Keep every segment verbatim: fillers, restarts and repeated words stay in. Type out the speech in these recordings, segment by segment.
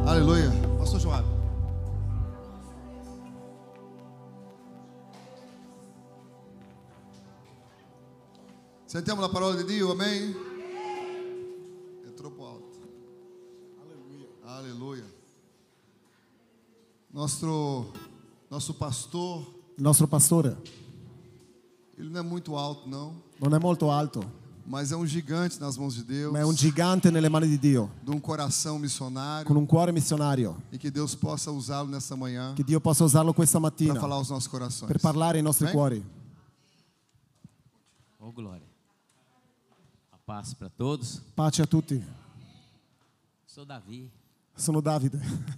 Aleluia. Pastor Joab. Sentiamo la parola di Dio, amém? É troppo alto. Aleluia. Aleluia. Nostro, nosso pastor, Il nostro pastore ele não é muito alto, não, non è molto alto, mas é um gigante nas mãos de Deus, ma è un gigante nelle mani di Dio, de um coração missionário, con un cuore missionario. e que Deus possa usá-lo nessa manhã Che Dio possa usarlo questa para mattina falar aos nossos corações. per parlare ai nostri Amém? cuori. Oh, glória. A paz para todos. Pace a tutti. Sou Davi. Sono Davide.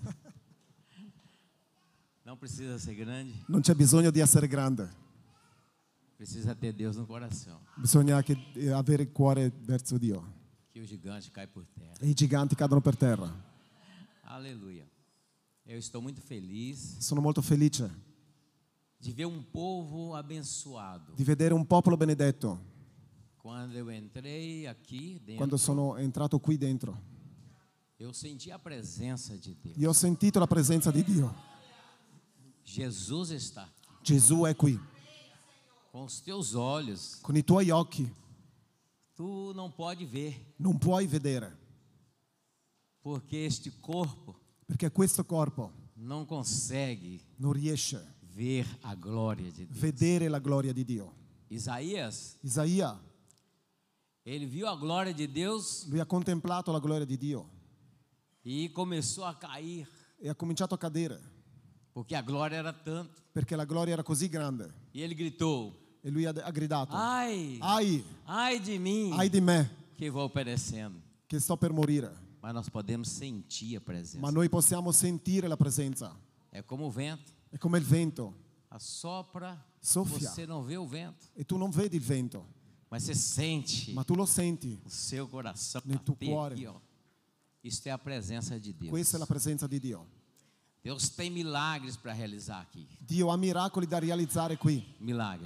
Não precisa ser grande, Non c'è bisogno di essere grande, precisa ter Deus no coração. bisogna che, eh, avere il cuore verso Dio. Que o gigante cai por terra. E i giganti cadono per terra. Aleluia. Eu estou muito feliz Sono molto felice de ver um povo abençoado. di vedere un popolo benedetto. Quando eu entrei aqui dentro, Quando sono entrato qui dentro, eu senti a presença de Deus. io ho sentito la presenza di Dio. Jesus está aqui. Gesù è qui, Com os teus olhos, con i tuoi occhi tu não pode ver, non puoi vedere, porque este corpo perché questo corpo não consegue non riesce a ver a glória de Deus. vedere la gloria di Dio. Isaías, Isaia, ele viu a glória de Deus lui ha contemplato la gloria di Dio e começou a cair, e ha cominciato a cadere, porque a glória era tanto. perché la gloria era così grande. E ele gritou: E lui ha, ha gridato, ai, ai, ai de mim, ai di me que vou perecendo. che sto per morire. Mas nós podemos sentir a presença. Ma noi possiamo sentire la presenza. É como o vento, È come il vento, assopra, Soffia. você não vê o vento, e tu non vedi il vento, mas você sente ma tu lo senti. o seu coração Nel tuo bater cuore. aqui, ó. Isso é a presença de Deus. Questa è la presenza di Dio. Deus tem milagres para realizar aqui. Dio ha miracoli da realizzare qui. Milagre.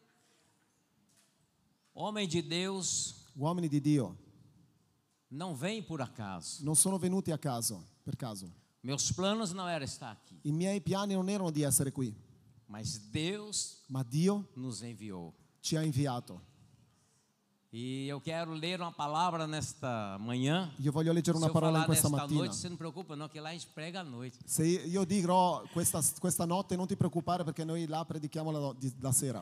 Homem de Deus Uomini di Dio não vem por acaso. non sono venuti a caso, per caso. Meus planos não era estar aqui, I miei piani non erano di essere qui, mas Deus ma Dio nos enviou. ci ha inviato. E eu quero ler uma palavra nesta manhã. Io voglio leggere Se una eu parola in falar questa desta mattina. noite, você não preocupa não, que lá a gente prega à noite. Se io dirò questa, questa notte, non ti preoccupare perché noi là predichiamo la, di- la sera.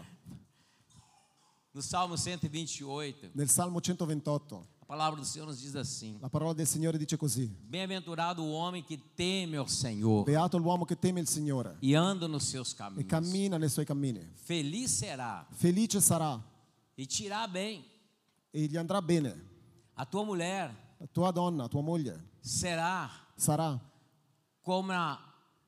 No Salmo cento e vinte e oito, Nel Salmo centoventotto, a palavra do Senhor nos diz assim: la parola del Signore dice così: bem-aventurado o homem que teme ao Senhor Beato l'uomo che teme il Signore e anda nos seus e caminhos. cammina nei suoi cammini. Feliz será Felice sarà e te irá bem. e gli andrà bene. A tua mulher La tua donna, tua moglie, será sarà como a,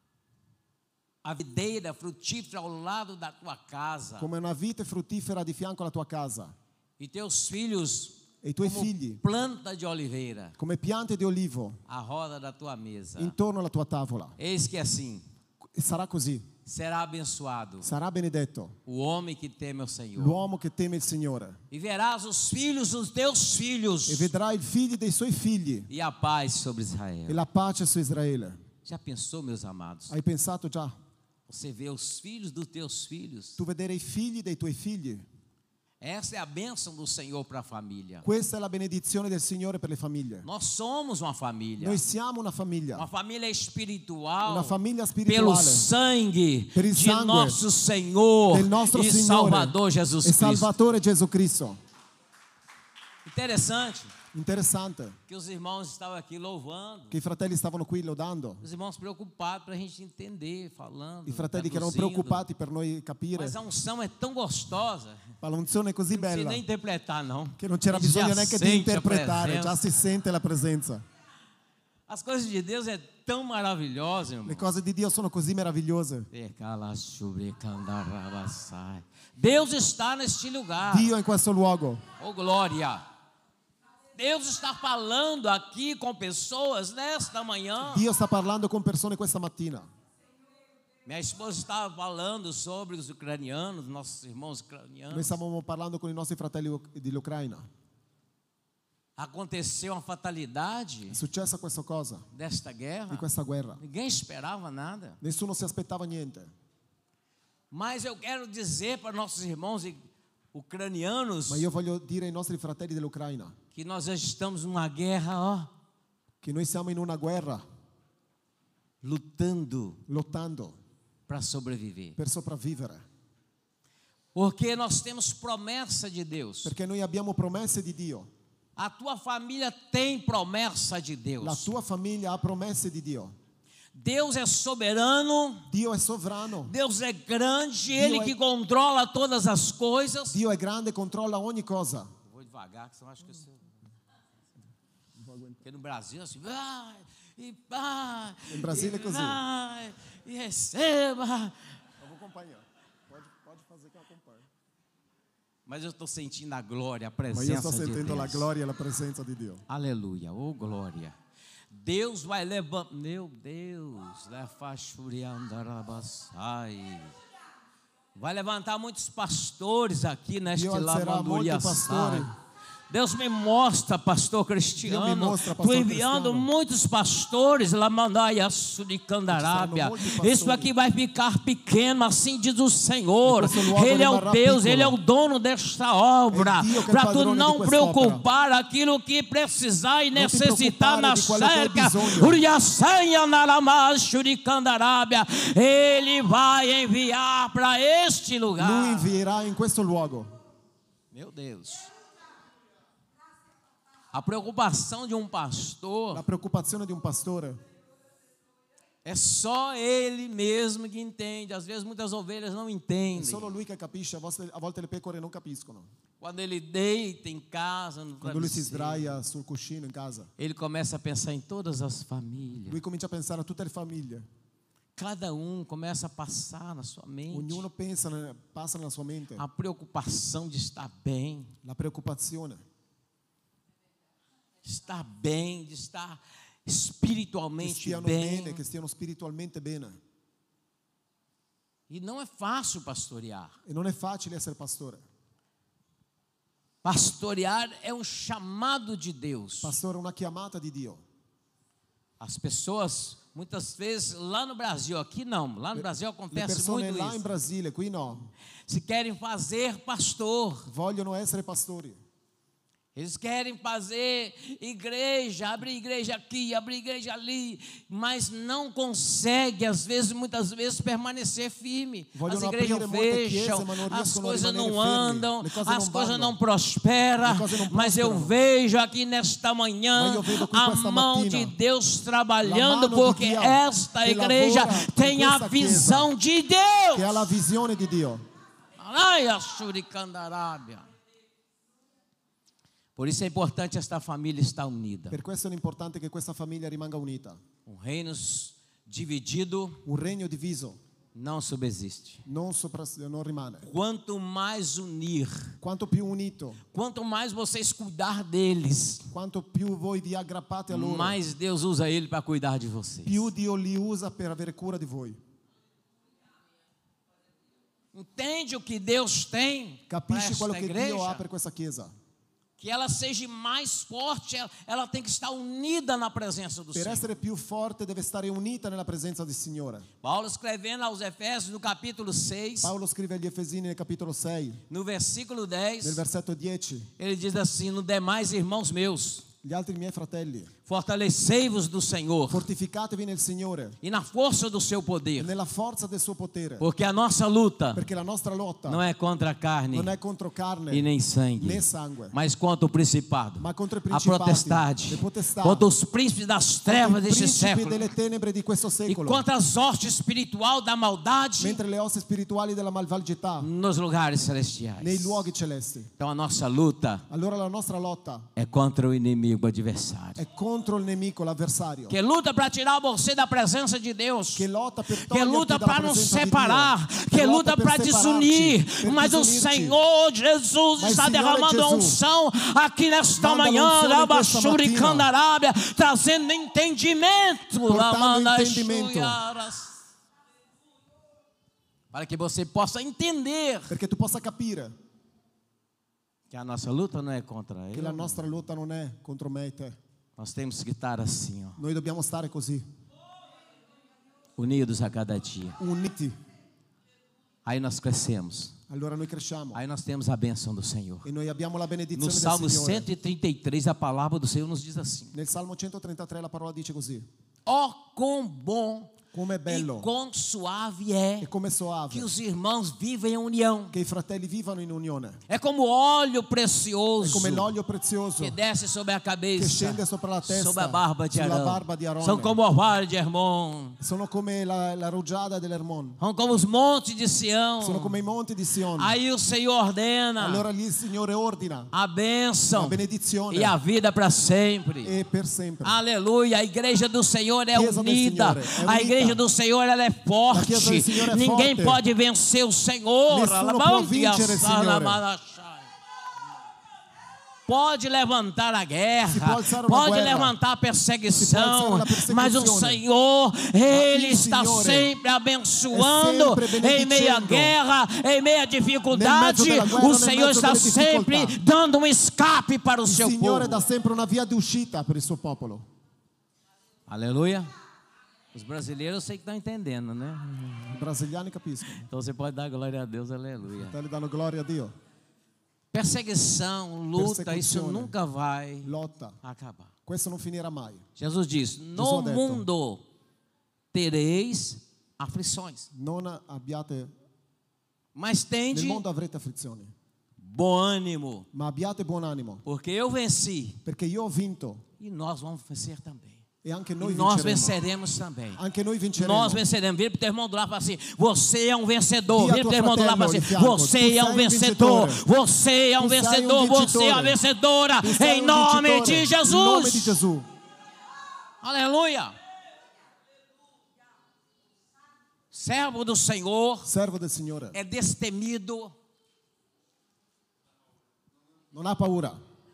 a videira frutífera ao lado da tua casa, come una vite fruttifera di fianco alla tua casa, e teus filhos e i tuoi como figli planta de oliveira come piante di olivo à roda da tua mesa. intorno alla tua tavola. Eis que assim E sarà così, será abençoado sarà benedetto o homem que teme ao Senhor. l'uomo che teme il Signore, E verás os filhos dos teus filhos e vedrà i figli dei suoi figli e a paz sobre e Israel. la pace su Israele. Já pensou, meus amados? Hai pensato già? Você vê os filhos dos teus filhos. Tu vedere i figli dei tuoi figli? Essa é a bênção do Senhor para a família. Questa è la benedizione del Signore per le famiglie. Nós somos uma família. Noi siamo una famiglia, Uma família espiritual. una famiglia Pelo spirituale sangue Per il de sangue nosso Senhor del nostro e Signore Salvador Jesus e Cristo. Salvatore Gesù Cristo. Interessante Interessante que os irmãos estavam aqui louvando. che i fratelli stavano qui lodando, Os irmãos preocupados para a gente entender, falando. i fratelli che erano traduzindo. preoccupati per noi capire. Mas a unção é tão gostosa. Ma l'unzione è così Não precisa bella nem interpretar, não. che non c'era A gente bisogno já neanche di sente a interpretare, presença. già si sente la presenza. As coisas de Deus é tão maravilhosas, irmão. Le cose di Dio sono così meravigliose. Deus está neste lugar. Dio è in questo luogo. Oh, glória. Deus está falando aqui com pessoas nesta manhã. Dio sta parlando con persone questa mattina. Minha esposa estava falando sobre os ucranianos, nossos irmãos Noi ucranianos. stavamo parlando con i nostri fratelli dell'Ucraina. aconteceu uma fatalidade È successa questa cosa, desta guerra. di questa guerra. Ninguém esperava nada. Nessuno si aspettava niente. Mas eu quero dizer para nossos irmãos ucranianos Ma io voglio dire ai nostri fratelli dell'Ucraina que nós já estamos numa guerra, ó, che noi siamo in una guerra, lutando lottando para sobreviver. per sopravvivere. Porque nós temos promessa de Deus. Perché noi abbiamo promesse di Dio. A tua família tem promessa de La Deus. tua famiglia ha promesse di Dio. Deus é soberano, Dio è sovrano. Deus é grande, Ele é- que controla todas as coisas. Dio è grande, controlla ogni cosa. Eu vou devagar, que senão acho que eu sei. Porque no Brasil assim, vai e vai. In Brasile è e così. vai, e receba. Eu vou acompanhar. Pode, pode fazer que eu acompanho. Mas eu estou sentindo a glória, a Ma io presença sto de sentendo la Deus. gloria e la presenza di Dio. Aleluia, oh glória. Deus vai levantar, meu Deus, lefachuriandarabassai. Vai levantar muitos pastores aqui neste Dio alzerà molti pastori. Lamanduriassai. Deus me mostra, pastor Dio me Cristiano, mostra, tu pastor enviando Cristiano. muitos pastores Lamandaia Suricandarábia. Ci saranno molti pastori. Isso aqui vai ficar pequeno, assim diz o Senhor. E questo luogo Ele é o rimarrà Deus, piccolo. Ele é o dono desta obra. È Dio che è Para tu padrone di não quest'opera. preocupar aquilo que precisar e Non ti necessitar na preoccupare di quello che hai cerca. bisogno. Uriaçanha Naramá Suricandarábia. Ele vai enviar para este lugar. Lui invierà in questo luogo. Meu Deus. A preocupação de um pastor La preoccupazione di un pastore é só ele mesmo que entende. Às vezes muitas ovelhas não è entendem. solo lui che capisce, a volte, a volte le pecore non capiscono. Quando ele deita em casa, no Quando lui si travesseiro, sdraia sul cuscino in casa, ele começa a pensar em todas as famílias. lui comincia a pensare a tutte le famiglie. Cada um começa a passar na sua mente Ognuno pensa, passa nella sua mente a preocupação de estar bem, la preoccupazione, de estar bem, de estar che espiritualmente stiano bem. bene, che stiano spiritualmente bene. E não é fácil pastorear. E non è facile essere pastore. Pastorear é um chamado de Deus. Pastore è una chiamata di Dio. As pessoas, muitas vezes, lá no Brasil, aqui não, lá no Brasil Le acontece persone muito là in isso. Brasile, qui no, Se querem fazer pastor, vogliono essere pastori. eles querem fazer igreja, abrir igreja aqui, abrir igreja ali, mas não consegue, às vezes, muitas vezes, permanecer firme. Vogliono As igrejas aprire molte fecham, chiese, ma non as riescono a coisas rimanere não fermi, andam, le cose as non coisas vanno, não prosperam, le cose non mas eu prosperano. vejo aqui nesta manhã Ma io vedo qui a questa mão mattina de Deus trabalhando, la mano di porque Dio esta che igreja lavora in tem a questa visão de Che ha Deus. la visione di Dio. Araia Shurikandarábia. Por isso é importante esta família estar unida. Per questo è importante che questa famiglia rimanga unita. Um reino dividido Un regno diviso não subsiste. non, sopra, non rimane. Quanto mais unir, Quanto più unito, quanto mais vocês cuidar deles, quanto più voi vi aggrappate a loro, mais Deus usa ele para cuidar de vocês. più Dio li usa per avere cura di voi. Entende o que Deus tem para Capisci quello esta che Dio ha igreja? per questa chiesa? Que ela seja mais forte, ela, ela tem que estar unida na presença do Per Senhor. essere più forte deve stare unita nella presenza del Signore. Paulo escrevendo aos Efésios no capítulo seis, Paolo scrive agli Efesini nel capitolo sei, no versículo nel dez, versetto dieci: ele diz assim: no demais, irmãos meus, gli altri miei fratelli, fortalecei-vos do Senhor fortificatevi nel Signore, e na força do seu poder, nella forza del suo potere, porque a nossa luta perché la nostra lotta não é contra a carne non è contro carne e nem sangue, né sangue, mas contra o principado, ma contro i a principati, potestade, le potestà, contra os príncipes das contro trevas i deste principi século delle tenebre di questo e secolo, contra as hostes espiritual da maldade mentre le ossa spirituali della malvagità nos lugares nei celestiais. luoghi celesti. Então a nossa luta Allora la nostra lotta é contra o inimigo adversário, è contro il nemico, l'avversario, que luta para tirar você da presença de Deus, che lotta per que toglierti luta dalla para nos presenza di separar, Dio, que luta lotta per para separarci, desunir, per mas o disunirci. Senhor Jesus Mas está Signore derramando a Gesù unção aqui nesta manda manhã, l'unzione in questa Rabashuricandarábia, trazendo entendimento, Portando Lamanda entendimento. Xuiaras, para que você possa entender perché tu possa capire Que a nossa luta não é contra che ele. la nostra lotta non è contro me e te. Nós temos que estar assim, ó, Noi dobbiamo stare così, unidos a cada dia. uniti. Aí nós crescemos. Allora noi cresciamo Aí nós temos a bênção do Senhor. e noi abbiamo la No benedizione Salmo del Signore. cento e trinta e três, a palavra do Senhor nos diz assim: Nel Salmo centotrentatré la parola dice così: ó, quão bom come è e bello quão suave é e come que soave os irmãos vivem em união. che i fratelli vivano in unione. É como óleo È precioso come l'olio prezioso que desce sobre a che cabeça, scende sopra la testa, sobre a barba de sulla Arão. barba di Aarone. São como o orvalho de Hermon. Sono come la, la rugiada dell'Hermon, São como os montes de Sião. sono come i monti di Sion. Aí o Senhor ordena Allora lì il Signore ordina a bênção la benedizione e a vida para sempre. e per sempre. Aleluia, a igreja do Senhor é Chiesa del unida. Signore é A unita. igreja do Senhor ela é La forte. chiesa del Signore è Ninguém forte. pode vencer o Senhor. Nessuno può Alabandia, vincere il Signore. Salamanachai. Pode levantar a Si può guerra, alzare uma pode guerra. levantar a perseguição, alzare la persecuzione. mas o Senhor, Ele il está Signore sempre abençoando è sempre em meio à benedicendo. guerra, em meio à dificuldade. Nel mezzo della guerra, O nel Senhor mezzo está delle sempre difficoltà. dando um escape para o Il seu Signore povo. dà sempre una via di uscita per il suo popolo. Aleluia. Os brasileiros eu sei que estão entendendo, né? I brasiliani capiscono. Então você pode dar glória a Deus, aleluia. Fratelli danno gloria a Dio. Perseguição, luta, isso Persecuzione. nunca vai Lotta. acabar. Questo non finirà mai. Jesus diz: no Jesus ha detto. mundo tereis aflições, Non abbiate, mas nel tende mondo avrete afflizioni, bom ânimo, ma abbiate buon animo, porque eu venci perché io ho vinto e nós vamos vencer também. e anche E noi nós vinceremo. venceremos também. Anche noi vinceremo. Nós venceremos. Vira para o teu irmão do lado e fala assim: você é um vencedor. Dia Vira para o tuo teu irmão do lado e fala fratello assim: di fianco, você tu é um sei um vencedor. vincitore. Você é um Tu sei um vencedor. Você é uma vincitore. vencedora. Tu sei Em un nome vincitore. de In Jesus. nome di Gesù. Aleluia. Servo do Senhor Servo del Signore. é destemido, Non ha paura.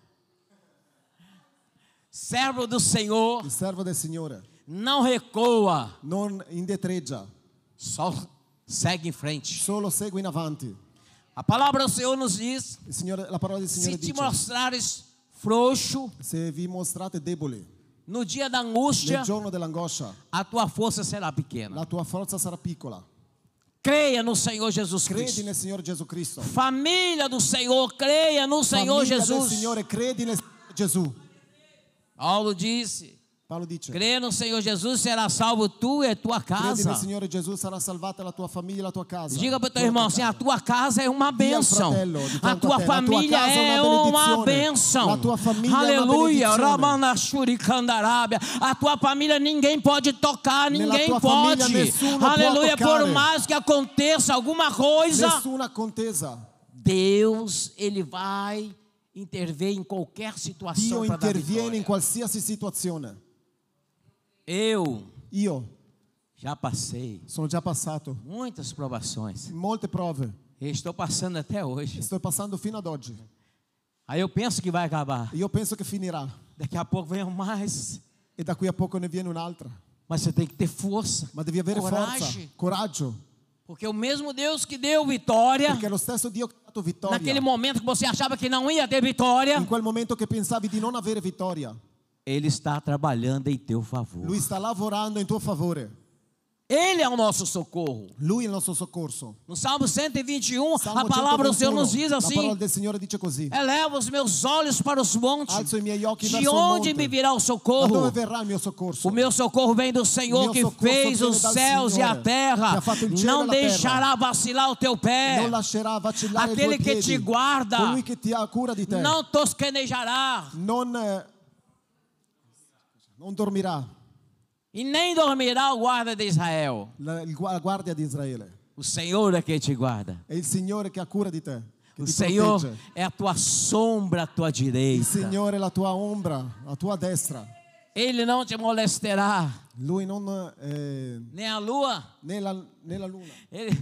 servo do Senhor Il servo del Signore não recua, non indietreggia, só segue em frente. solo segue in avanti. A palavra do Senhor nos diz: Il Signore, la parola del Signore se te dice: mostrares frouxo se vi mostrate deboli no dia da angústia, nel giorno dell'angoscia, a tua força será pequena. la tua forza sarà piccola. Creia no Senhor Jesus Credi Cristo. nel Signore Gesù Cristo. Família do Senhor, creia no Senhor Famiglia del Jesus. Signore, credi nel Signore Gesù. Paulo disse: Paolo dice: crê no Senhor Jesus, será salvo tu e tua credi nel casa. Signore Gesù, sarà salvata la tua famiglia e la tua casa. Diga para o teu Tua irmão casa. assim: a tua casa é uma Dia al bênção. fratello di A fianco a tua te, la tua família casa é é uma uma benedizione. bênção. La tua famiglia é uma Aleluia. benedizione. Ramanashuri Kandarábia. A tua família ninguém pode tocar, Nella ninguém tua pode. famiglia nessuno può Aleluia. Por toccare. mais que aconteça alguma coisa, Nessuna contesa. Deus, Ele vai intervir em qualquer Dio situação para dar interviene in vitória. qualsiasi situazione. Eu Io já passei sono già passato muitas provações. molte prove. E estou passando até hoje. Sto passando fino ad oggi. Aí eu penso que vai acabar. Io penso che finirà. Daqui a pouco vem mais. E da qui a poco ne viene un'altra. Mas você tem que ter força. Ma devi avere Coragem. forza, coraggio. Porque o mesmo Deus que deu vitória, Perché è lo stesso Dio che ha dato vittoria. naquele momento que você achava que não ia ter vitória, In quel momento che pensavi di non avere vittoria, Ele está trabalhando em teu favor. Lui sta lavorando in tuo favore. Ele é o nosso socorro. Lui è il nostro soccorso. No Salmo cento e vinte e um, Salmo a palavra do Senhor nos diz centoventuno, la parola assim: del Signore dice così: eleva os meus olhos para os montes. alzo i miei occhi De verso il onde monte. me virá o Da socorro? dove verrà il mio soccorso? O meu socorro vem do Senhor Meu que socorro fez viene os dal céus e a Signore, terra. que ha fatto il cielo Não e la terra. deixará vacilar o teu pé. Non lascerà vacillare i Aquele tuoi que piedi. te guarda. Colui che ti ha cura di te. Não tosquenejará Non, eh, non dormirà. e nem dormirá o guarda de Israel. La, il gua- la guardia di Israele. O Senhor é quem te guarda. È il Signore che ha cura di te, che O ti Senhor protegge. é a tua sombra à tua Il direita. Signore è la tua ombra, la tua destra. Ele não te molestará, Lui non eh, nem a lua. né la, né la luna. Ele...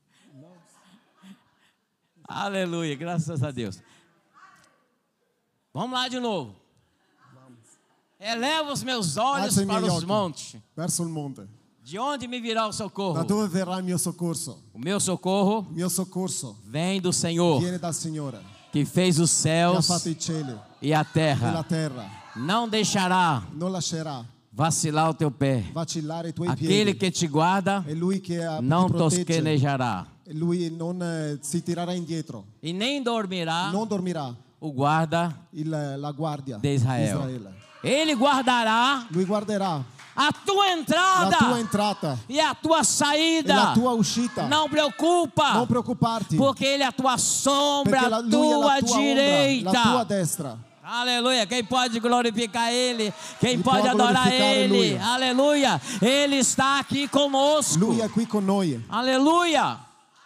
Aleluia, graças a Deus. Vamos lá de novo. Eleva os meus olhos Alzo i para miei os occhi montes. verso il monte. De onde me virá o Da socorro? dove verrà il mio soccorso? O meu socorro Il mio soccorso vem do Senhor, viene dal Signore, que fez os che ha céus fatto i cieli e a e la terra, terra, não deixará non lascerà vacilar o teu pé. vacillare i tuoi Aquele piedi. que te guarda È lui che eh, não ti protegge. tosquenejará. E lui non eh, si tirerà indietro, E nem dormirá non dormirà o guarda il, la guardia de di Israel. Israele. Ele guardará Lui guarderà a tua la entrada tua entrata e a tua e saída. la tua uscita. Não preocupa, Non preoccuparti, porque Ele é a tua sombra, perché a la- lui è tua la tua direita. ombra, la tua destra. Aleluia. Quem pode glorificar Ele? Quem Ele pode pode adorar glorificar, Ele? aleluia. Aleluia. Ele está aqui conosco. Lui è qui con noi. Aleluia.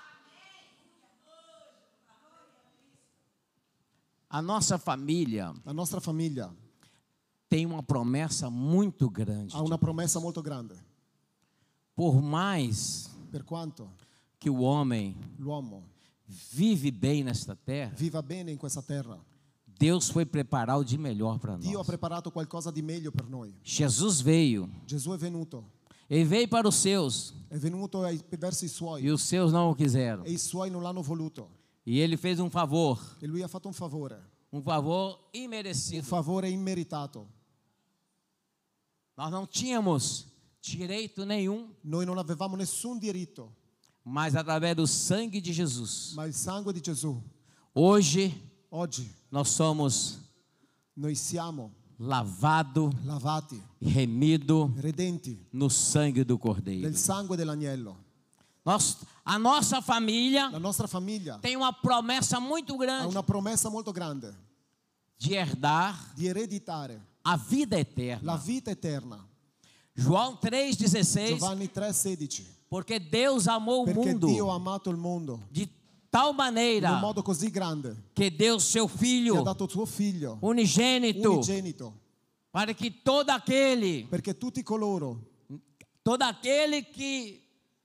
A nossa família La nostra famiglia tem uma promessa muito grande. ha una promessa molto grande. Por mais Per quanto que o homem l'uomo vive bem nesta terra, viva bene in questa terra, Deus foi preparar o de melhor para Dio ha nós. preparato qualcosa di meglio per noi. Jesus veio, Gesù è venuto, ele veio para os seus è venuto ai- verso i suoi e os seus não o quiseram. e i suoi non l'hanno voluto. E ele fez um favor, E lui ha fatto un favore, um favor un imerecido. favore immeritato. Nós não tínhamos direito nenhum, Noi non avevamo nessun diritto, mas através do sangue de Jesus, ma il sangue di Gesù, hoje oggi nós somos noi siamo lavados, lavati, remidos redenti no sangue do Cordeiro. del sangue dell'agnello. Nós, a nossa família La nostra famiglia tem uma promessa muito ha grande una promessa molto grande de herdar di ereditare a vida la eterna. vita eterna. João três dezesseis, Giovanni tre sedici. porque Deus amou o Perché Dio mundo ha amato il mondo de tal in maneira un modo così grande que deu seu che ha Filho dato suo figlio unigênito unigenito, para que todo aquele, perché tutti coloro todo aquele que,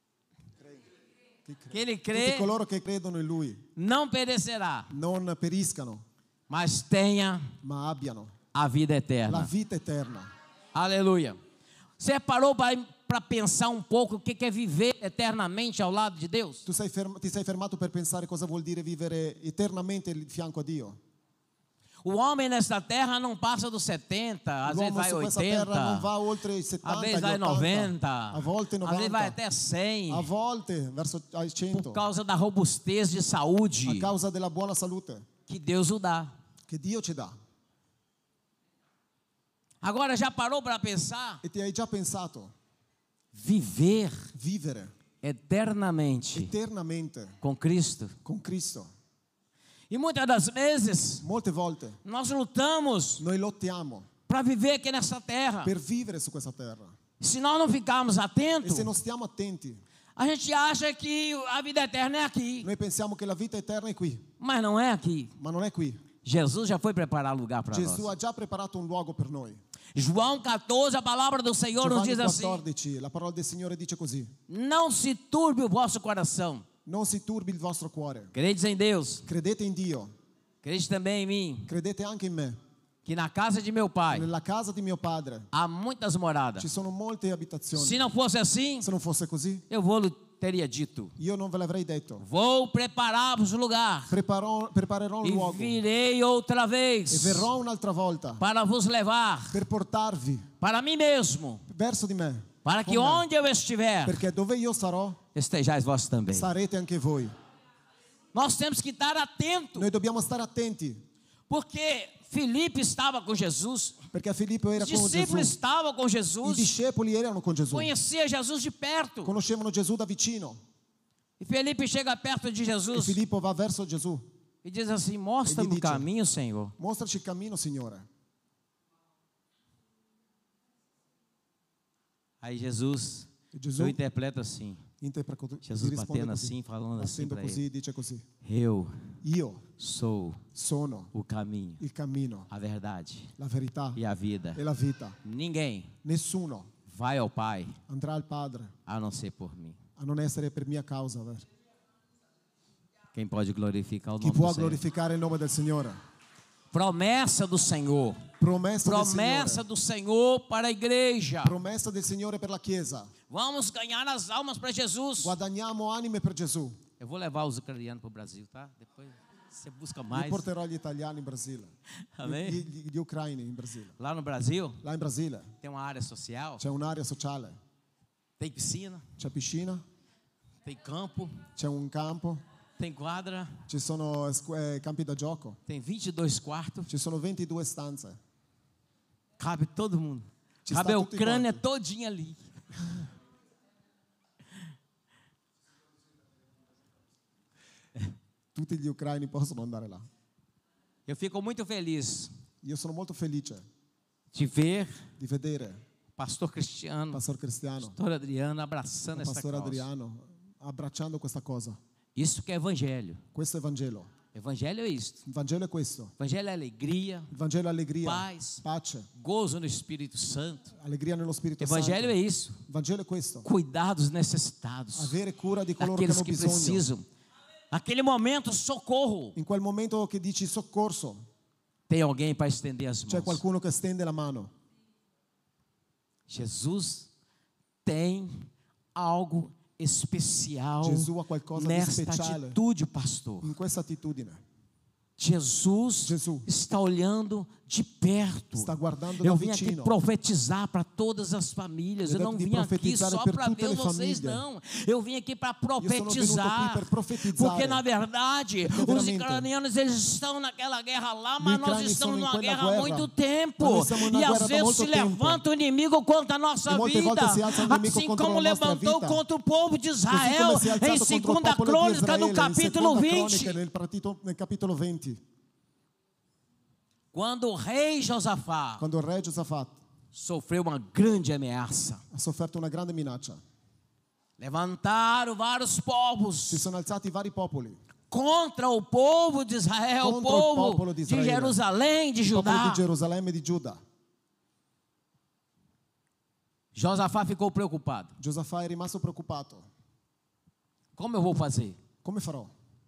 que ele tutti crê coloro che credono in lui não perecerá, non periscano, mas tenha ma abbiano a vida la eterna. vita eterna. Aleluia. Você parou para pensar um pouco o que é viver eternamente ao lado de Deus? Tu sei ferm- ti sei fermato per pensare cosa vuol dire vivere eternamente di fianco a Dio? O homem nesta terra não passa dos setenta, às vezes L'uomo vai su questa terra non oitenta, va oltre i às settanta, vezes gli vai ottanta, noventa, a volte às vezes vai novanta, até cem, a volte verso ai cento, por causa da robustez de saúde a causa della buona salute que Deus o dá. che Dio ci dà. Agora já parou para pensar? E ti hai già pensato Viver vivere eternamente eternamente com Cristo. con Cristo? E muitas das vezes Molte volte nós lutamos noi lottiamo para viver aqui nessa terra. per vivere su questa terra Se nós não ficarmos e atentos, se non stiamo attenti a gente acha que a vida eterna é aqui, noi pensiamo che la vita eterna è qui, mas não é aqui. ma non è qui. Jesus já foi preparar lugar para Gesù nós. ha già preparato un luogo per noi. João quatorze, a palavra do Senhor nos Giovanni diz assim: quattordici, la parola del Signore dice così: não se turbe o vosso coração. non si turbi il vostro cuore. Credes em Deus, Credete in Dio, credes também em mim, credete anche in me. que na casa de meu pai Nella casa di mio padre há muitas moradas. ci sono molte abitazioni. Se não fosse assim, Se non fosse così, eu vou teria dito: io non ve l'avrei detto. vou preparar-vos lugar Preparò- preparerò un e luogo virei outra e vez verrò un'altra volta para vos levar per portarvi para mim mesmo, verso di me. para con que me. onde eu estiver, Perché dove io sarò, estejais vós também. sarete anche voi. Nós temos que estar atentos, Noi dobbiamo stare attenti, porque Filipe estava com Jesus, perché Filippo era os con discípulos Gesù. estavam com I Jesus, discepoli erano con Gesù, conhecia Jesus de perto. conoscevano Gesù da vicino. E Felipe chega perto de E Jesus Filippo va verso Gesù. e diz assim: mostra-me Ele o dice: caminho, Senhor. Mostraci il cammino, Signore. Aí Jesus, E Gesù eu interpreto assim: interpreta, Jesus gli risponde batendo così, assim, falando assim Battendo para così, ele: dice così: eu io sou sono o caminho, il cammino, a verdade la verità e a vida. e la vita. Ninguém Nessuno vai ao Pai andrà al Padre a não ser por mim. a non essere per mia causa. vero? Quem pode glorificar o Chi nome può do Senhor? glorificare il nome del Signore? Promessa do Senhor. Promessa, Promessa del Signore. do Senhor para a igreja. Promessa del Signore per la Chiesa. Vamos ganhar as almas para Jesus. Guadagniamo anime per Gesù. Eu vou levar os ucranianos para o Brasil, tá? Depois. Você busca Io mais. porterò gli italiani in Brasile. Amém? Gli, gli- gli ucraini in Brasile. Lá no Brasil, Là in Brasile tem uma área social, c'è un'area sociale, tem piscina, c'è piscina, tem campo, c'è un campo, tem quadra, ci sono squ- eh, campi da gioco, tem vinte e dois quartos, ci sono ventidue stanze. cabe todo mundo. Ci Cabe sta a tutti Ucrânia quanti. todinha ali. Tutti gli ucraini possono andare là. Eu fico muito feliz Io sono molto felice de ver di vedere o pastor Cristiano, Pastor Cristiano, pastor Adriano abraçando il essa Pastor causa. Adriano abbracciando questa cosa. Isso que é evangelho. Questo è Vangelo. Evangelho é isto. Il Vangelo è questo. Evangelho é alegria, Il Vangelo è allegria, paz, pace, gozo no Espírito Santo. allegria nello Spirito Evangelho é Santo. isso. Il Vangelo è questo. Cuidar dos necessitados, Avere cura di coloro che daqueles hanno que bisogno. precisam. Naquele momento, socorro. In quel momento che dici soccorso, Tem alguém para estender as c'è mãos. qualcuno che stende la mano. Jesus tem algo especial Gesù ha qualcosa di nesta speciale. atitude, pastor. In questa attitudine Jesus Gesù está olhando de perto. sta guardando Eu da vim aqui vicino. profetizar para todas as famílias. Eu Ele não de vim aqui profetizare só per para tutte ver le vocês, famiglie. não. Eu vim aqui para Io sono venuto qui profetizar. per profetizzare. Porque na verdade, Perché os veramente ucranianos eles estão naquela guerra lá, mas nós ucrani estamos sono in numa quella guerra há guerra. muito tempo. Ma noi siamo in una E às guerra da vezes molto se tempo. levanta o inimigo contra a nossa E molte vida, volte si alza il nemico assim contro como la nostra levantou vita. contra o povo de Così Israel come si è em alzato contro il segunda popolo di Crônica, Israele, no in capítulo Seconda vinte. Croniche, nel, partito- nel capitolo venti, Quando o rei Josafá quando il re Giosafat sofreu uma grande ameaça. ha sofferto una grande minaccia. Levantaram vários povos Si sono alzati vari popoli, contra o povo de Israel, o Contra o povo popolo di de Israele. Jerusalém, de il popolo Judá. di Gerusalemme e di Giuda. Josafá ficou preocupado. Giosafà è rimasto preoccupato. Como eu vou fazer? Come farò?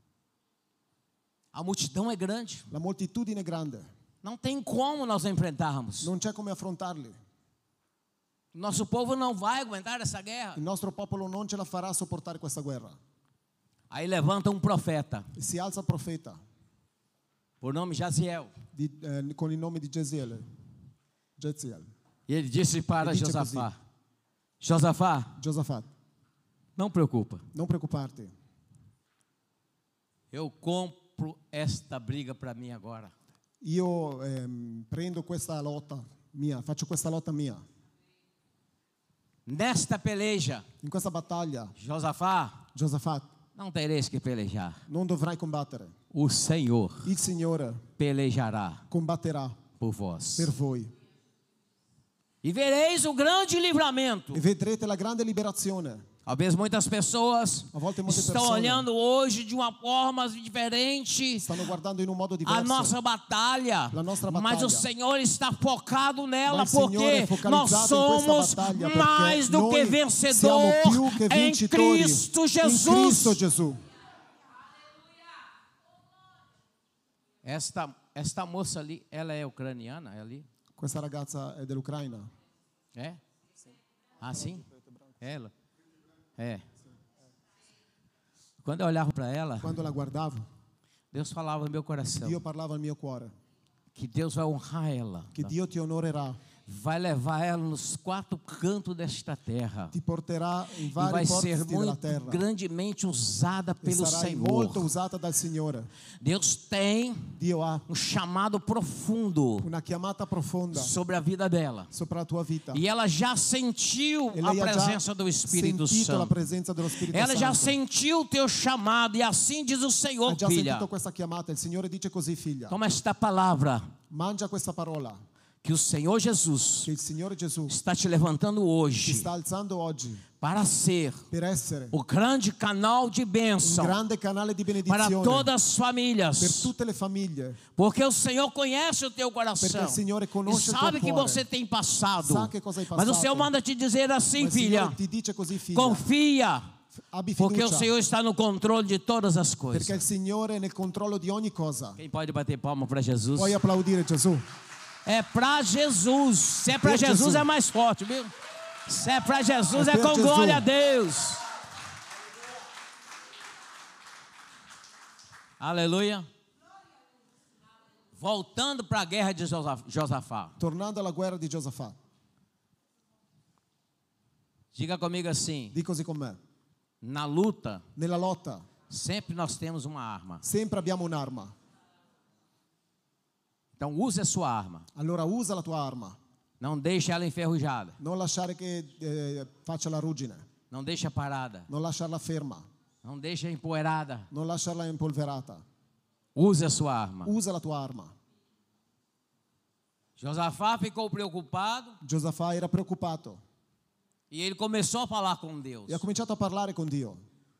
A multidão é grande. La moltitudine è grande, Não tem como nós enfrentarmos. non c'è come affrontarli. Nosso povo não vai aguentar essa guerra. Il nostro popolo non ce la farà a sopportare questa guerra. Aí levanta um profeta, E si alza il profeta por nome Jaziel. di- eh, con il nome di Gesiele, Geziel, E ele disse para Ele disse Josafá: Josafá, Giosafat, não preocupa. non preoccuparti, Eu compro esta briga para mim agora. io ehm, prendo questa lotta mia, faccio questa lotta mia. Nesta peleja, In questa battaglia, Josafá, Giosafat, não tereis que pelejar. non dovrai combattere. O Senhor Il Signore pelejará combatterà por vós. per voi. E vereis o grande livramento. E vedrete la grande liberazione. Talvez muitas pessoas A volte molte estão persone olhando hoje de uma forma diferente stanno guardando in un modo a diverso. nossa batalha, La nostra mas battaglia. o Senhor está focado nela, Ma il Signore porque è focalizzato nós in questa somos battaglia, perché mais do que noi vencedor siamo più che em vincitori Cristo in Jesus. Cristo Gesù. Esta, esta moça ali, ela é ucraniana, é ali? Questa ragazza è dell'Ucraina. É? Ah, sim? Ela? É. Quando eu olhava para ela, Quando la guardavo, Deus falava no meu coração Dio parlava al mio cuore que Deus vai honrar ela, che Dio ti onorerà, vai levar ela nos quatro cantos desta terra ti porterà in e vari vai ser posti della muito terra grandemente usada e pelo sarai molto Senhor. usata dal Signore. Deus tem Dio ha um chamado profundo una chiamata profonda sobre a vida dela. sopra la tua vita. E ela já sentiu E a lei ha già presença do Espírito sentito la Santo. presenza dello Spirito Ela já Santo. sentiu o teu chamado e assim diz o Senhor, Ha già filha. sentito questa chiamata. Il Signore dice così, figlia. Toma esta palavra Mangia questa parola que o Senhor Jesus che il Signore Gesù está te levantando ti hoje sta alzando oggi para ser per essere o grande canal de un bênção grande canale di para benedizione todas as per famílias. tutte le famiglie, Porque o Senhor conhece o teu perché coração il Signore e conosce il sabe tuo que cuore. você tem passado. Sa che cosa hai Mas o passato. Senhor manda te dizer assim, Ma il filha, Signore ti dice così, figlia, confia, abbi porque o fiducia, Senhor está no controle de todas as perché coisas. il Signore è nel controllo di ogni cosa. Quem pode bater palma para Jesus? Puoi applaudire Gesù. É para Jesus. Se é para Per Jesus, Jesus. é mais forte, viu? Se é para Jesus, É é per com Jesus. glória a Deus. Aleluia. Voltando para a guerra de Josafá. Tornando alla guerra di Giosafà. Diga comigo assim: Di così con me. na luta, Nella lotta sempre nós temos uma arma. sempre abbiamo un'arma. Então use a sua arma. Allora usa la tua arma. Não deixe ela enferrujada. Non lasciare che eh, faccia la ruggine. Não deixe parada. Non lasciarla ferma. Não deixe empoeirada. Non lasciarla impolverata. Use a sua arma. Usa la tua arma. Josafá ficou preocupado Giosafà era preoccupato e ele começou a falar com Deus. e ha cominciato a parlare con Dio.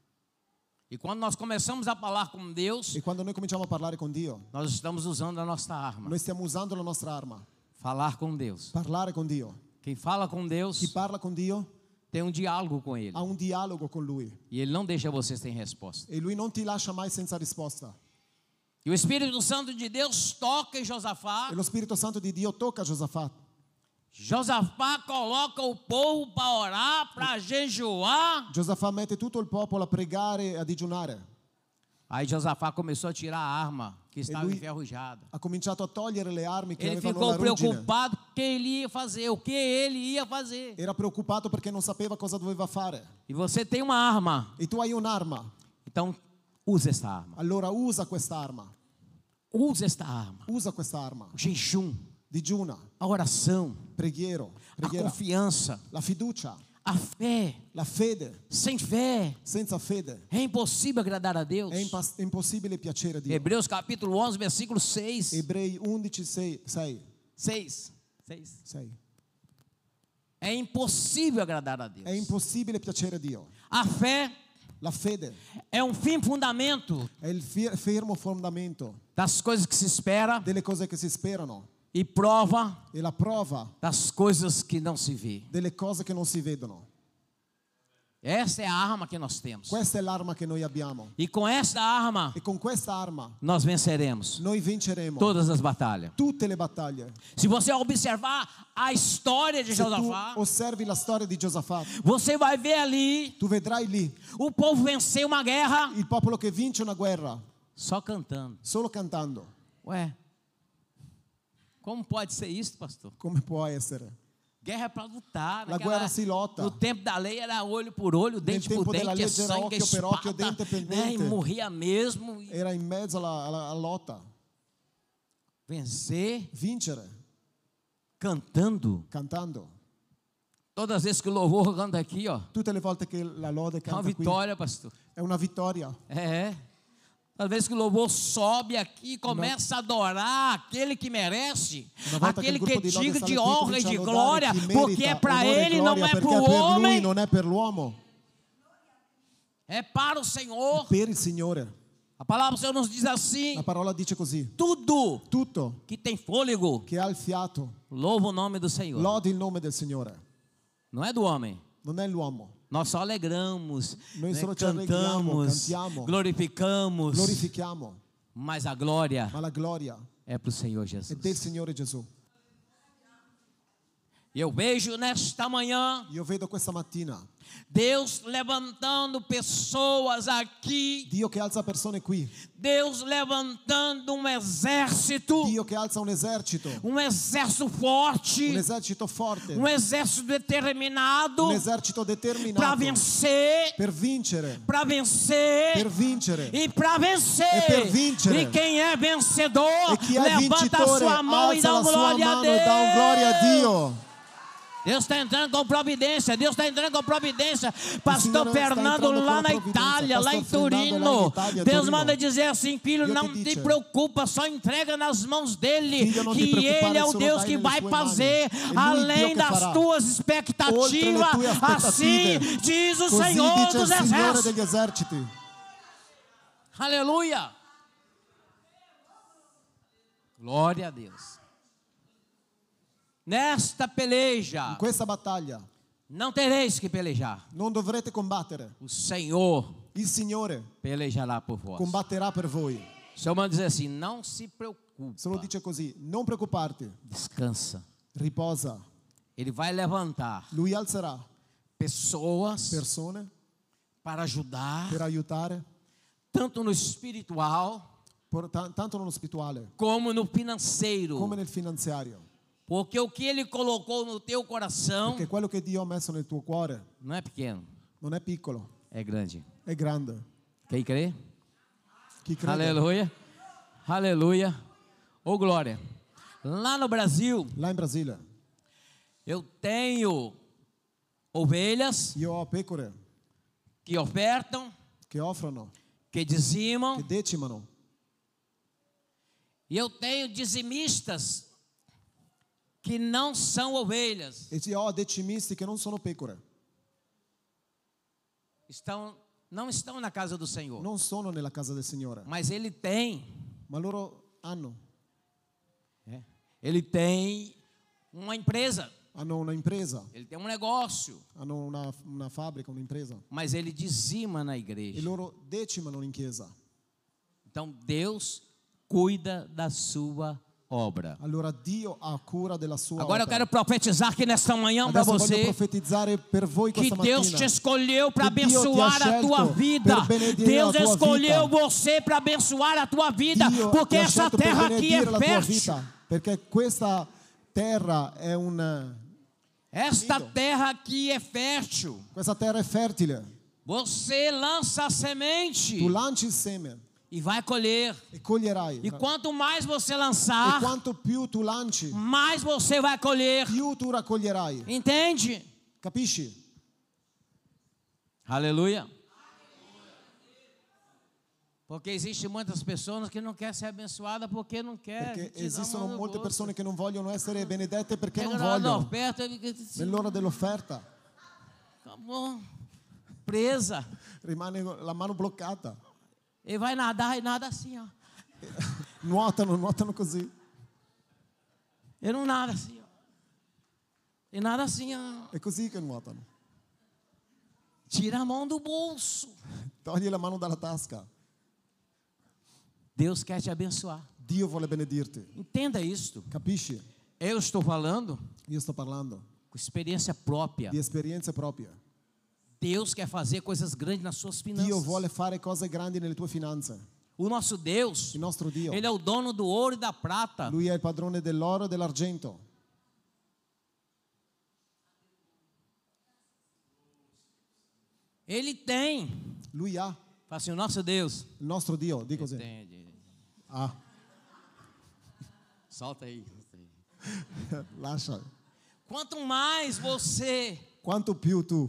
E quando nós começamos a falar com Deus, E quando noi cominciamo a parlare con Dio, nós estamos usando a nossa arma. noi stiamo usando la nostra arma. Falar com Deus. Parlare con Dio. Quem fala com Deus Chi parla con Dio tem um diálogo com Ele. ha un dialogo con Lui. E Ele não deixa você sem resposta. E Lui non ti lascia mai senza risposta. E o Espírito Santo de Deus toca em Josafá. E lo Spirito Santo di Dio tocca Giosafà. Josafá coloca o povo para orar, para jejuar. Giosafà mette tutto il popolo a pregare e a digiunare. Aí Josafá começou a tirar a arma que estava lui- enferrujada. Ha cominciato a togliere le armi che Ele avevano ficou la ruggine. preocupado com o que ele ia fazer, o que ele ia fazer. Era preoccupato perché non sapeva cosa doveva fare. E você tem uma arma, E tu hai un'arma. então use esta arma. Allora usa quest'arma. Use esta arma. Usa quest'arma. O jejum, Digiuna, a oração, preghiero, a preghiera, confiança, la fiducia, a fé. la fede. Sem fé Senza fede é impossível agradar a Deus. è impas- impossibile piacere a Dio. Hebreus capítulo onze, versículo seis. Ebrei undici, sei, sei, seis. seis. sei. É impossível agradar a Deus. È impossibile piacere a Dio. A fé La fede é um fim fundamento è il fi- fermo fondamento das coisas que se espera delle cose che si sperano e prova e la prova das coisas que não se vê. delle cose che non si vedono. Essa é a arma que nós temos. Questa è l'arma che noi abbiamo. E com esta arma E con questa arma nós venceremos noi vinceremo todas as batalhas. tutte le battaglie. Se você observar a história de Se tu Josafá, osservi la storia di Giosafà, você vai ver ali tu vedrai lì o povo venceu uma guerra il popolo che vince una guerra só cantando. solo cantando. Ué, como pode ser isso, pastor? Come può essere? Guerra é para lutar. La naquela- guerra si lotta. No tempo da lei era olho por olho, dente por tempo della dente, é legge era sangue, é occhio per occhio, espada, dente per né? E dente. morria mesmo. E Era in mezzo alla, alla- alla lotta. vencer Vincere cantando. cantando. Todas as vezes que o louvor canta aqui, ó, Tutte le volte che la lode é uma canta qui vitória, pastor. è una vittoria. É. Às vezes que o louvor sobe aqui e começa a adorar aquele que merece, Una volta aquele che que il é gruppo di lode digno sale de qui, honra e comincia de a lodare glória, chi porque é merita para onore e ele, não gloria, é perché para o è per lui, homem, non è per l'uomo, é para o Senhor. per il Signore. A palavra do Senhor nos diz assim: La parola dice così: tudo tutto que tem fôlego, che ha il fiato louva o nome do Senhor. lodi il nome del Signore. Não é do homem. Non è l'uomo. Nós só alegramos, Noi né, solo ci allegriamo, cantamos, cantiamo. glorificamos, Glorifichiamo, mas a glória ma la gloria é para o Senhor è del Jesus. Signore Gesù. E eu vejo nesta manhã Io vedo questa mattina Deus levantando pessoas aqui, Dio che alza persone qui, Deus levantando um exército, Dio che alza un esercito, um exército forte, un esercito forte, um exército determinado un esercito para determinato vencer, per vincere, para vencer per vincere. e para vencer. E per vincere. E quem é vencedor, E chi è levanta a vincitore sua mão e alza dá la sua glória a mano e dà un gloria a Deus. Dio. Deus está entrando com providência, Deus está entrando com providência. Pastor Signore sta Fernando entrando lá com na providenza. Itália, lá em Pastor Fernando lá Turino. em Itália, Deus Torino. manda dizer assim: filho, Dio não ti te dice, preocupa, só entrega nas mãos dele, Figlio, non ti que preoccupare, ele é o solo Deus dai que nelle vai sue fazer mani. É lui além Dio che das farà. tuas Oltre expectativas. le tue Assim aspettative. diz o Così Senhor dice il dos Signore Exércitos. degli eserciti. Aleluia. Glória a Deus. Nesta peleja In questa battaglia não tereis que pelejar. non dovrete combattere. O Senhor Il Signore pelejará por vós. combatterà per voi. O Senhor manda dizer assim: não se preocupe, Se lo dice così, non preoccuparti, descansa. riposa. Ele vai levantar Lui alzerà pessoas persone para ajudar, per aiutare, tanto no espiritual por- ta- tanto nello spirituale como no financeiro. come nel finanziario. Porque o que Ele colocou no teu coração Perché quello che Dio ha messo nel tuo cuore não é pequeno, non è piccolo, é grande. è grande. Quem crê? Chi crede? Aleluia. Aleluia. Ô glória. Lá no Brasil, Là in Brasile eu tenho ovelhas io ho pecore que ofertam, che offrono, que dizimam, che decimano, e eu tenho dizimistas que não são ovelhas. e io ho decimisti che non sono pecore, Estão, não estão na casa do Senhor, non sono nella casa del Signore, mas Ele tem, ma loro hanno, é, Ele tem uma empresa, hanno una impresa, Ele tem um negócio, hanno una, una fabbrica, un'impresa, mas Ele dizima na e igreja. loro decimano in chiesa. Então Deus cuida da sua obra. Allora Dio ha cura della sua Agora eu opera. quero profetizar aqui nesta manhã para Adesso voglio você profetizzare per voi que questa Deus te mattina escolheu para que Dio ti ha abençoar a tua scelto vida. per benedire Deus la tua escolheu vita. você para abençoar a tua vida, Dio porque ti ha essa scelto per terra aqui é benedire la tua fértil. vita, perché questa terra è un Esta Lindo. terra aqui é fértil. questa terra è fertile. Você lança a Tu semente lanci il seme e vai colher. e coglierai. E quanto mais você E lançar, quanto più tu lanci, mais você vai colher. più tu raccoglierai. Entende? Capisci? Aleluia. Porque existem muitas pessoas que não querem ser abençoadas porque não querem. Perché esistono molte persone che non vogliono essere benedette perché non Chega na hora da vogliono. oferta, fica assim, Nell'ora dell'offerta acabou, presa. rimane la mano bloccata. E vai nadar e nada assim, ó. Nuotano, nuotano così. Ele não nada assim, ó. E nada assim, ó. È così che nuotano. Tira a mão do bolso. Togli la mano dalla tasca. Deus quer te abençoar. Dio vuole benedirti. Entenda isto. Capisci? Eu estou falando Io sto parlando com experiência própria. di esperienze proprie. Deus quer fazer coisas grandes nas suas finanças. Dio vuole fare cose grandi nelle tue finanze. O nosso Deus, Il nostro Dio, Ele é o dono do ouro e da prata. Lui è il padrone dell'oro e dell'argento. Ele tem. Lui ha, Fala assim, o nosso Deus. il nostro Dio, di così. Tem, tem. Ah, Solta aí. lascia. Quanto mais você Quanto più tu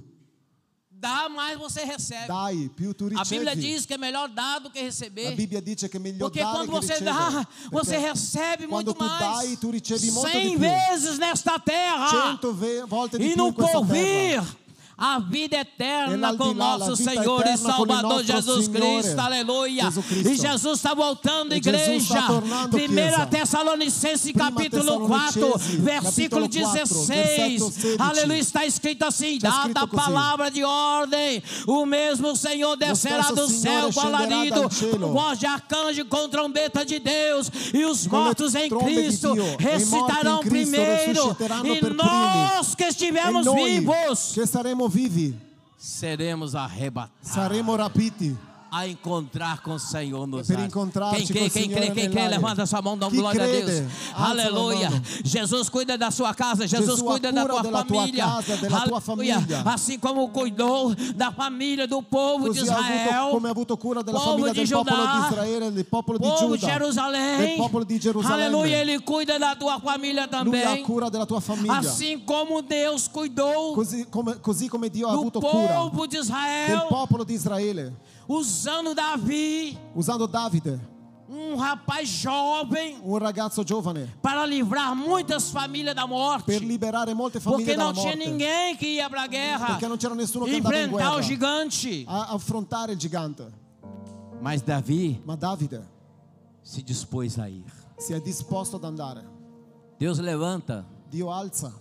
dá, mais você recebe. dai, più tu A Bíblia ricevi. diz que é melhor dar do que La receber. Bibbia dice che è meglio Porque dare quando che você ricevere. dá, você Perché recebe quando muito tu mais. dai, tu ricevi molto Cem di più. vezes nesta terra. Cento ve- volte di E più no in questa porvir, terra. a vida E eterna l'aldilà, com la nosso vita Senhor e eterna con il Salvador nostro Jesus Signore, Cristo, aleluia. Gesù Cristo. E Jesus está voltando, E igreja. Jesus sta tornando, primeira chiesa. Tessalonicenses, Prima capítulo quatro, Tessalonicenses, versículo capítulo quatro, dezesseis. versetto sedici. Aleluia, está escrito assim: Está dada escrito a così. palavra de ordem, o mesmo Senhor descerá stesso do céu Signore com scenderà alarido, dal cielo. com voz de arcanjo, com trombeta de Deus, e os Con le mortos em trombe di Cristo Dio, e i morti in ressuscitarão Cristo primeiro, resusciteranno e per nós que E estivermos noi vivos che saremo vivi seremos arrebatados saremo rapiti a encontrar com o Senhor nos per ares. incontrarci Quem crê, col quem crê, Signore quem crê, nell'aria. levanta sua mão, dá Chi glória a crede, Deus. alza la Aleluia. mano. Jesus cuida da sua casa, Jesus Gesù ha cuida da cura tua della tua família. casa, della tua Aleluia. famiglia. Assim como cuidou da família do povo de Così ha Israel, avuto, come ha avuto cura della povo famiglia di del Giudà, popolo di Israele, del popolo di povo de Giuda, Jerusalém. del popolo di Gerusalemme. Aleluia, Ele cuida da tua família Lui ha também. cura della tua famiglia. Assim como Deus cuidou Così come, così come Dio ha do avuto cura povo de del Israel, popolo di Israele, usando Davi, usando Davide, um rapaz jovem, un ragazzo giovane, para livrar muitas famílias da morte. per liberare molte famiglie Porque dalla não tinha morte. ninguém que ia para a guerra Perché non c'era nessuno che andava in enfrentar o guerra gigante. a affrontare il gigante. Mas Davi Ma Davide se dispôs a ir. si è disposto ad andare. Deus levanta Dio alza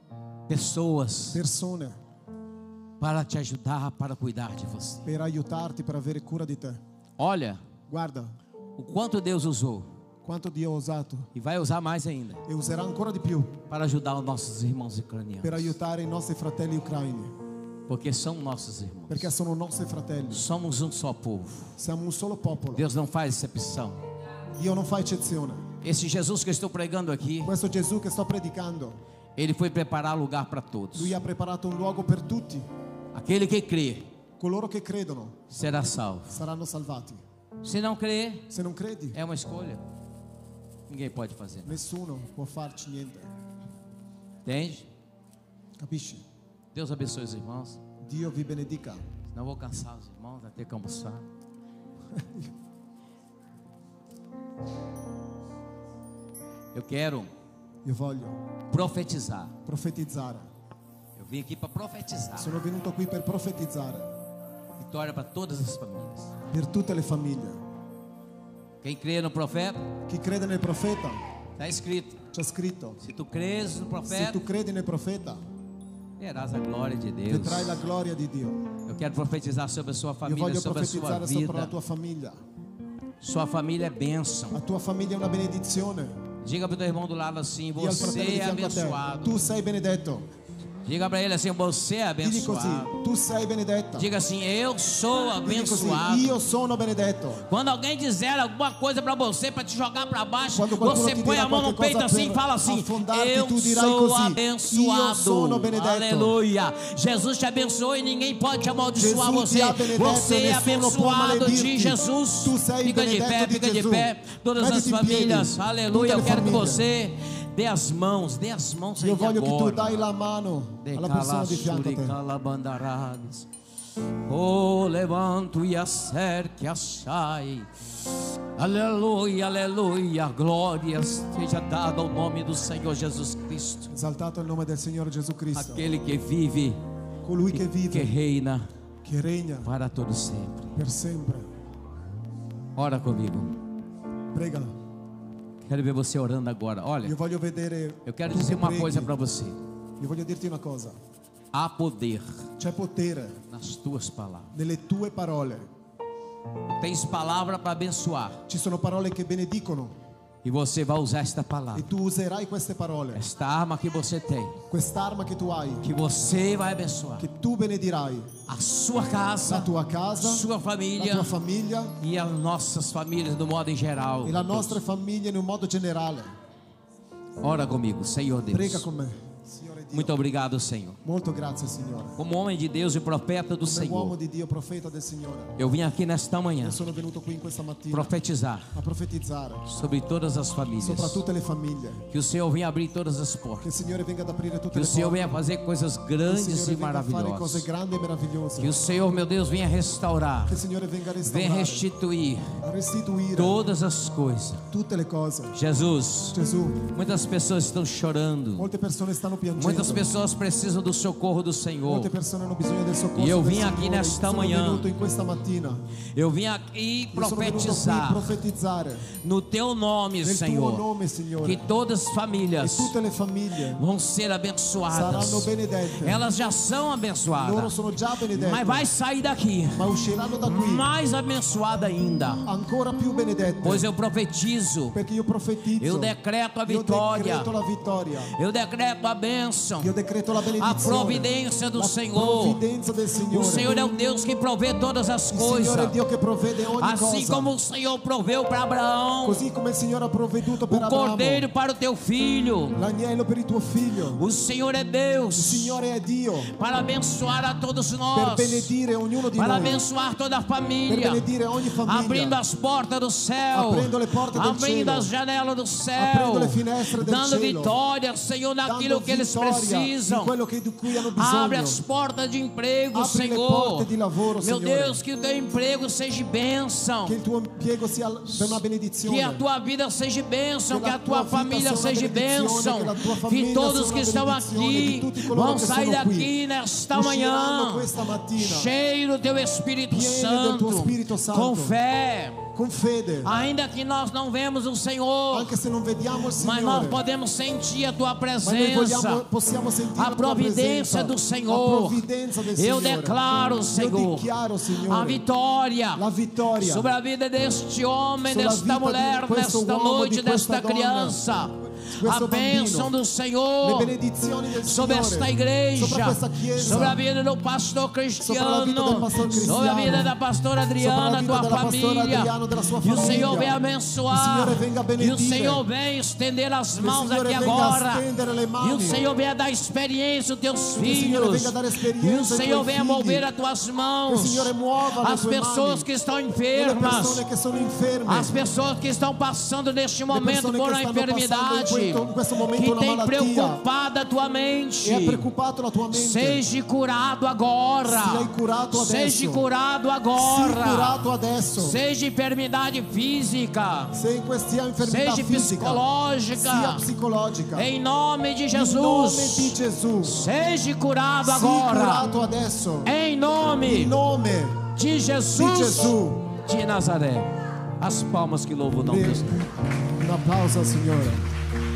pessoas persone para te ajudar, para cuidar de você. per aiutarti, per avere cura di te. Olha Guarda o quanto Deus usou quanto Dio ha usato e vai usar mais ainda e userà ancora di più para ajudar os nossos irmãos per ucranianos. aiutare i nostri fratelli ucraini, Porque são nossos irmãos. perché sono nostri fratelli. Somos um só povo. Siamo un solo popolo. Deus não faz exceção. Dio non fa eccezione. Esse Jesus que eu estou pregando aqui, Questo Gesù che sto predicando, ele foi preparar lugar para todos. Lui ha preparato un luogo per tutti. Aquele que crê Coloro che credono será salvo. saranno salvati. Se não crê, Se non credi, é uma escolha. Ninguém pode fazer. nessuno può farci niente. Entende? Capisci? Deus abençoe os irmãos. Dio vi benedica. Não vou cansar os irmãos, vai ter que almoçar. Eu quero Io voglio profetizar. profetizzare. Eu vim aqui para profetizar. Sono venuto qui per profetizzare Vitória para todas as famílias. per tutte le famiglie. Quem crê no profeta, Chi crede nel profeta, está escrito. c'è scritto, Se tu crês no se profeta, tu credi nel profeta, verás a glória de Deus. vedrai la gloria di Dio. Eu quero profetizar sobre a sua Io família, voglio sobre a sua profetizzare sopra la vida. tua famiglia. Sua família é bênção. La tua famiglia è una benedizione. Diga para o teu irmão do lado assim: Dì al fratello di você é fianco a te, abençoado. tu sei benedetto. Diga para ele assim: você é Digli così, abençoado. tu sei benedetta. Diga assim: eu sou Digli così, abençoado. io sono benedetto. Quando alguém dizer alguma coisa para você, para te jogar para baixo, Quando qualcuno você ti põe dirà a mão no qualche peito cosa assim e per fala assim: affondarti, eu tu dirai sou così, abençoado. io sono benedetto. Aleluia. Jesus te abençoe e ninguém pode te amaldiçoar Gesù você. ti ha benedetto, Você é nessuno può abençoado de maledirti. Jesus. Tu sei Fica de benedetto pé, di fica de Gesù. pé. Todas as Mettiti in piedi. famílias. Aleluia. Tutte Eu le quero que famiglie. você dê as mãos, dê as mãos aí Io voglio che tu agora. dai la mano alla persona di fianco a te. Calabandaradas. Oh, levanto e acerque, achai. Aleluia, aleluia. Glória seja dada ao nome do Senhor Jesus Cristo. Esaltato il nome del Signore Gesù Cristo. Aquele que vive, Colui che que vive, reina che regna para todo sempre. per sempre. Ora comigo. Prega. Quero ver você orando agora. Olha, Io voglio vedere. eu quero tu dizer che uma preghi. coisa para você. Io voglio dirti una cosa. Há poder C'è potere nas tuas palavras. nelle tue parole. Tens palavra para abençoar. Ci sono parole che benedicono E você vai usar esta e palavra. tu userai queste parole. Esta arma que você tem. Quest'arma che tu hai, Que você vai abençoar. che tu benedirai A sua la casa, tua casa, sua la família tua famiglia e as nossas famílias do modo em geral. e la nostra famiglia in un modo generale. Ora comigo, Senhor Prega Deus. con me, Signore Dio. Muito obrigado, Senhor. Molto grazie, Signore. Como homem de Deus e profeta do Come uomo Senhor, di Dio, profeta del Signore, eu vim aqui nesta manhã io sono venuto qui in questa mattina profetizar a profetizzare sobre todas as famílias. sopra tutte le famiglie. Que o Senhor venha abrir todas as Che portas. il Signore venga ad aprire tutte Que o le Senhor porte. venha fazer coisas Che il grandes e Signore venga a fare cose maravilhosas. grandi e meravigliose. Que o Senhor, meu Deus, venha restaurar, Che il Signore venga a venha restaurare, restituir a restituire todas as coisas. tutte le cose. Jesus, Gesù, muitas pessoas estão chorando. molte persone stanno piangendo. Muitas pessoas precisam do socorro do Senhor. Molte persone hanno bisogno del soccorso E eu del vim aqui Signore. nesta Sono manhã. venuto in questa mattina. Eu vim aqui Io sono venuto qui profetizar profetizzare no teu nome, nel tuo Senhor, nome, Signore. que todas as E famílias tutte le famiglie vão ser abençoadas. saranno benedette. Elas já são Loro abençoadas, sono già benedette, mas vai sair daqui ma usciranno da qui mais abençoada ainda, ancora più benedette. pois eu profetizo, Perché io profetizzo. eu decreto a Io vitória, decreto la vittoria. eu decreto a bênção, Io decreto la a benedizione. providência do la Senhor. provvidenza del Signore. O Senhor é o Deus que provê todas as Il Signore è coisas, il Dio che provvede ogni assim cosa. como o Senhor proveu para Abraão Così come il Signore ha provveduto per o Abramo, cordeiro para o teu filho. l'agnello per il tuo figlio. O Senhor é Il Deus Signore è Dio para abençoar a todos per nós, benedire ognuno di para noi, abençoar toda a per família, benedire ogni famiglia, abrindo as portas do céu, Abrindo le porte del abrindo cielo, as janelas do céu, abrindo le finestre del dando cielo, vitória, Senhor, naquilo dando que eles vittoria precisam. in quello che, di cui hanno Abre bisogno. as portas de emprego, Apri le Senhor. porte di lavoro, Meu Signore. Deus, que o teu emprego seja bênção, Che il tuo impiego sia per una benedizione. que a tua vida seja bênção, Que que a a tua tua vida família seja uma seja benedizione, bênção, que a tua que família todos seja que uma estão benedizione, aqui que tutti coloro vão che sair sono qui daqui nesta usciranno manhã questa mattina cheio do teu Espírito pieni del Santo, tuo Spirito Santo. com fé, con fede. ainda que nós não vemos o Senhor, Anche se non vediamo il mas nós Signore, podemos sentir a tua ma noi vogliamo, presença, possiamo sentire a la tua providência presenza, do la Senhor. provvidenza del Eu Signore. declaro, Io Senhor, dichiaro, a Signore, vitória la vittoria sobre a vida deste homem, Sulla desta vita di mulher, questo nesta uomo, noite, di questa desta donna. criança. questo a bênção bambino, do Senhor le benedizioni del sobre esta Signore, igreja, sopra questa chiesa, sobre a vida do pastor sopra la Cristiano, vita del pastor Cristiano, sobre a vida da pastora Adriana, vita tua della pastora família. Adriano, della sua E o famiglia. Senhor vem Il abençoar. Signore venga a E o benedire. Senhor vem estender as mãos Signore aqui venga a agora. stendere le E mani. o Senhor venha dar experiência aos teus Que o Signore filhos. venga a dare E o esperienza ai Senhor tuoi venha figli. mover as tuas Che il mãos. Signore muova le As tue pessoas mani. que estão Le enfermas. persone che sono inferme. As pessoas que estão passando neste momento persone por che uma stanno enfermidade, passando in questo momento que una tem malattia. preocupado a tua mente, E ha preoccupato la tua mente. seja curado agora. Sei curato adesso. Seja curado Sii agora. curato adesso. Seja enfermidade física, Se in questa infermità seja fisica, sia psicológica, psicologica, em nome de in nome di Jesus, Gesù, seja curado sii agora. curato adesso. Em nome In nome de di Jesus Gesù. de Nazaré. As palmas que louvam o nome do Senhor. Un applauso al Signore.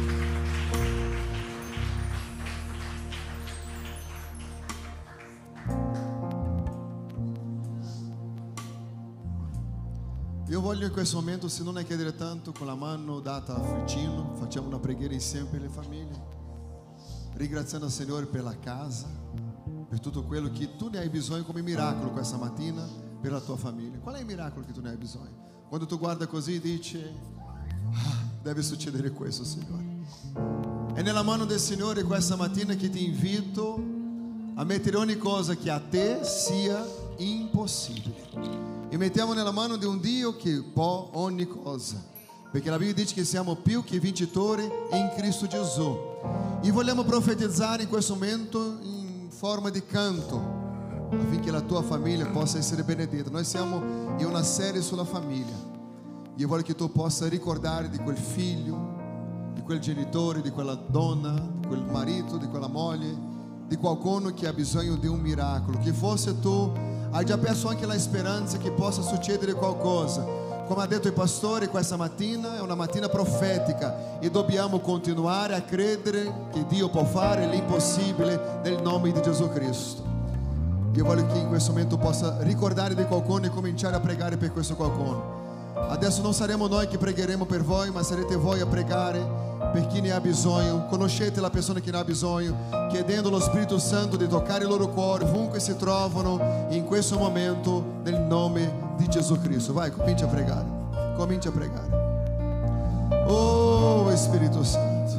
Io voglio in questo momento, se non è chiedere tanto, con la mano data a Fritino, facciamo una preghiera insieme per le famiglie, ringraziando il Signore per la casa, per tutto quello che tu ne hai bisogno come miracolo questa mattina per la tua famiglia. Qual è il miracolo che tu ne hai bisogno? Quando tu guarda così dici, ah, deve succedere questo, Signore. È nella mano del Signore questa mattina che ti invito a mettere ogni cosa che a te sia impossibile. E mettiamo nella mano di un Dio che può ogni cosa, perché la Bibbia dice che siamo più che vincitori in Cristo Gesù. E vogliamo profetizzare in questo momento in forma di canto, affinché la tua famiglia possa essere benedetta. Noi siamo in una serie sulla famiglia. Io voglio che tu possa ricordare di quel figlio, di quel genitore, di quella donna, di quel marito, di quella moglie, di qualcuno che ha bisogno di un miracolo. Che forse tu hai già perso anche la speranza che possa succedere qualcosa. Come ha detto il pastore, questa mattina è una mattina profetica e dobbiamo continuare a credere che Dio può fare l'impossibile nel nome di Gesù Cristo. Io voglio che in questo momento possa ricordare di qualcuno e cominciare a pregare per questo qualcuno. Adesso non saremo noi che pregheremo per voi, ma sarete voi a pregare per chi ne ha bisogno. Conoscete la persona che ne ha bisogno, chiedendo allo Spirito Santo di toccare il loro cuore ovunque si trovano in questo momento nel nome di Gesù Cristo. Vai, comincia a pregare. Comincia a pregare. Oh Spirito Santo,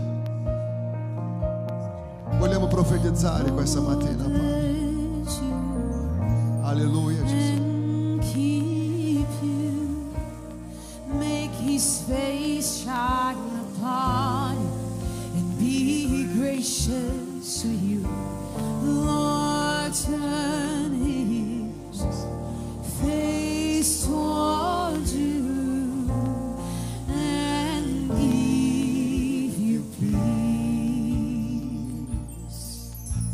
vogliamo profetizzare questa mattina, Padre. Alleluia, Gesù. His face shine upon you and be gracious to you. Lord, turn his face toward you and give you peace.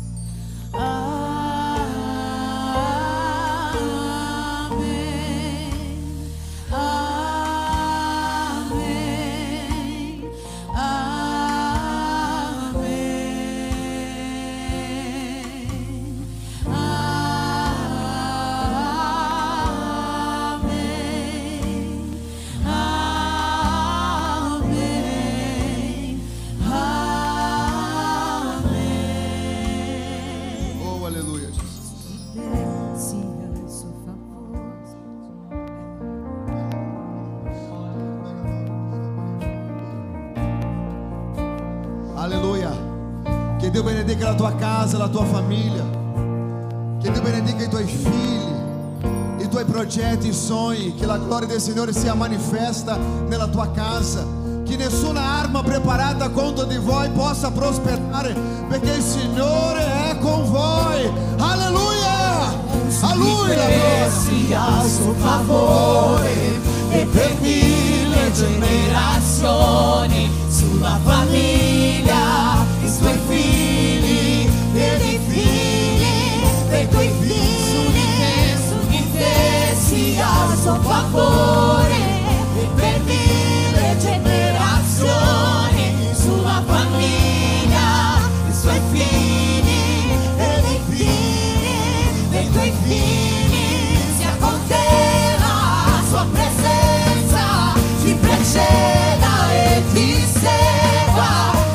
Alleluia. Che Dio benedica la tua casa, la tua famiglia. Che Dio benedica i tuoi figli, i tuoi progetti, i sogni. Che la gloria del Signore sia manifesta nella tua casa. Che nessuna arma preparata contro di voi possa prosperare, perché il Signore è con voi. Alleluia. A Lui la gloria. Sia a suo favore e per mille generazioni sulla famiglia, i suoi figli e dei figli dei tuoi figli, su di te sia a suo favore e per mille generazioni sulla famiglia, i suoi figli e dei figli dei tuoi figli, sia con te la sua presenza ti preceda e ti segua.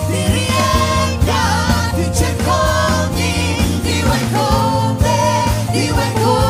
Oh,